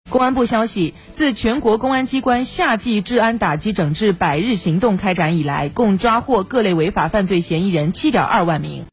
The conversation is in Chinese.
公安部消息，自全国公安机关夏季治安打击整治100日行动开展以来，共抓获各类违法犯罪嫌疑人7.2万名。